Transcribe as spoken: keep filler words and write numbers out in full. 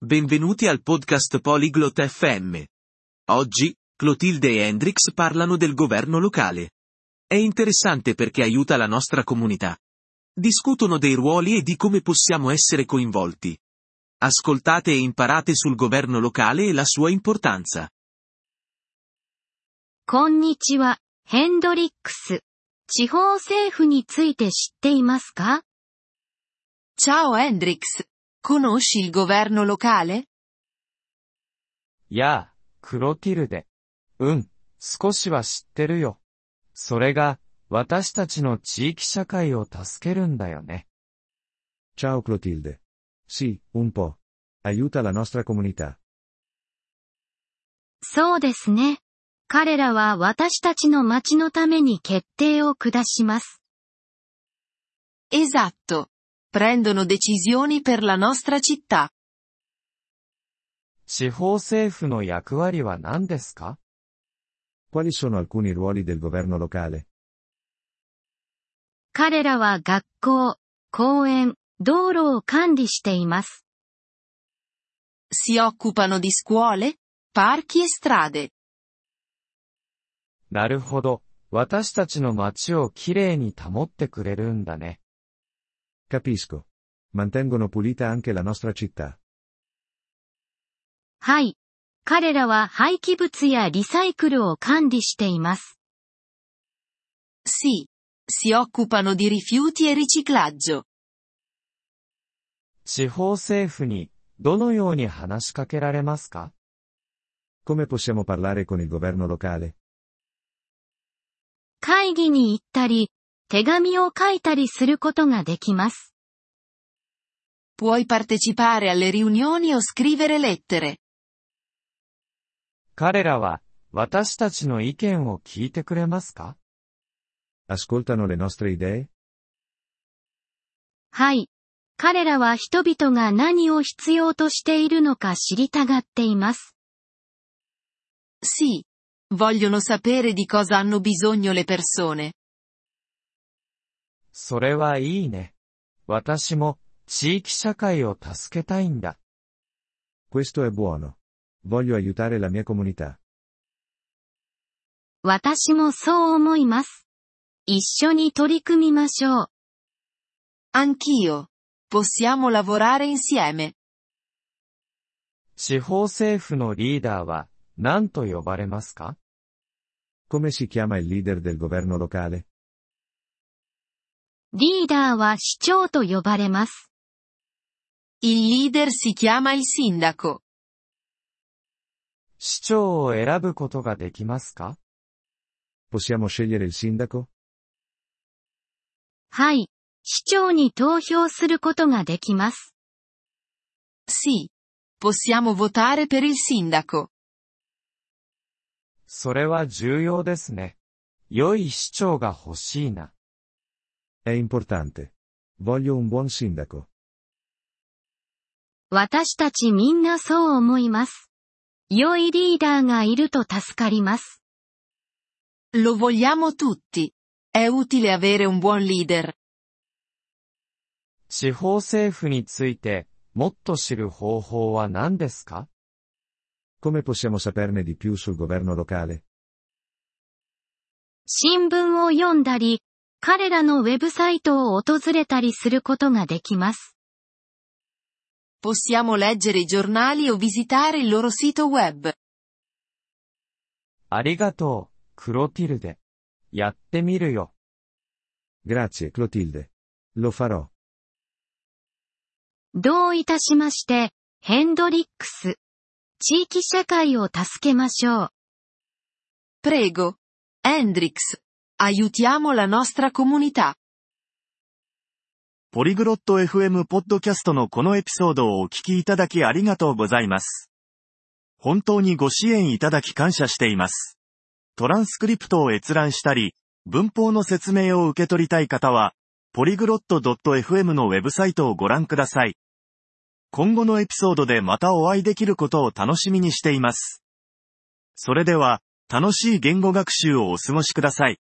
Benvenuti al podcast Polyglot F M. Oggi, Clotilde e Hendrix parlano del governo locale. È interessante perché aiuta la nostra comunità. Discutono dei ruoli e di come possiamo essere coinvolti. Ascoltate e imparate sul governo locale e la sua importanza. こんにちは、ヘンドリックス。地方政府について知っていますか？ Ciao Hendrix. Conosci il governo locale? やあ、クロティルデ。うん、少しは知ってるよ。それが、私たちの地域社会を助けるんだよね。 Ciao Clotilde. Sì, un po'. Aiuta la nostra comunità. そうですね。彼らは私たちの町のために決定を下します。 Esatto. Prendono decisioni per la nostra città. 地方政府の役割は何ですか？ Quali sono alcuni ruoli del governo locale? 彼らは学校、公園、道路を管理しています。 Si occupano di scuole, parchi e strade. なるほど。私たちの町をきれいに保ってくれるんだね。 Capisco. Mantengono pulita anche la nostra città. はい。彼らは廃棄物やリサイクルを管理しています。 Sì. Si occupano di rifiuti e riciclaggio. 地方政府に、どのように話しかけられますか？ Come possiamo parlare con il governo locale? 会議に行ったり、手紙を書いたりすることができます。 Puoi partecipare alle riunioni o scrivere lettere. 彼らは、私たちの意見を聞いてくれますか？ Ascoltano le nostre idee? はい。彼らは人々が何を必要としているのか知りたがっています。 Sì. Vogliono sapere di cosa hanno bisogno le persone. それはいいね。私も、地域社会を助けたいんだ。 Questo è buono. Voglio aiutare la mia comunità. 私もそう思います。一緒に取り組みましょう。 Anch'io. Possiamo lavorare insieme. 地方政府のリーダーは、何と呼ばれますか？ Come si chiama il leader del governo locale? リーダーは市長と呼ばれます。 Il leader si chiama il sindaco. 市長を選ぶことができますか？ Possiamo scegliere il sindaco? はい。市長に投票することができます。 Sì. Possiamo votare per il sindaco. それは重要ですね。良い市長が欲しいな。 È importante. Voglio un buon sindaco. 私たちみんなそう思います。良いリーダーがいると助かります。 Lo vogliamo tutti. È utile avere un buon leader. 地方政府について、もっと知る方法は何ですか？ Come possiamo saperne di più sul governo locale? 新聞を読んだり、彼らのウェブサイトを訪れたりすることができます。 Possiamo leggere i giornali o visitare il loro sito web. ありがとう、クロティルデ。やってみるよ。 Grazie, Clotilde. Lo farò. どういたしまして、ヘンドリックス。地域社会を助けましょう。 Prego. Hendrix. Aiutiamo la nostra comunità. ポリグロット エフエム ポッドキャストのこのエピソードをお聞きいただきありがとうございます。本当にご支援いただき感謝しています。トランスクリプトを閲覧したり、文法の説明を受け取りたい方は、ポリグロット エフエム のウェブサイトをご覧ください。今後のエピソードでまたお会いできることを楽しみにしています。それでは、楽しい言語学習をお過ごしください。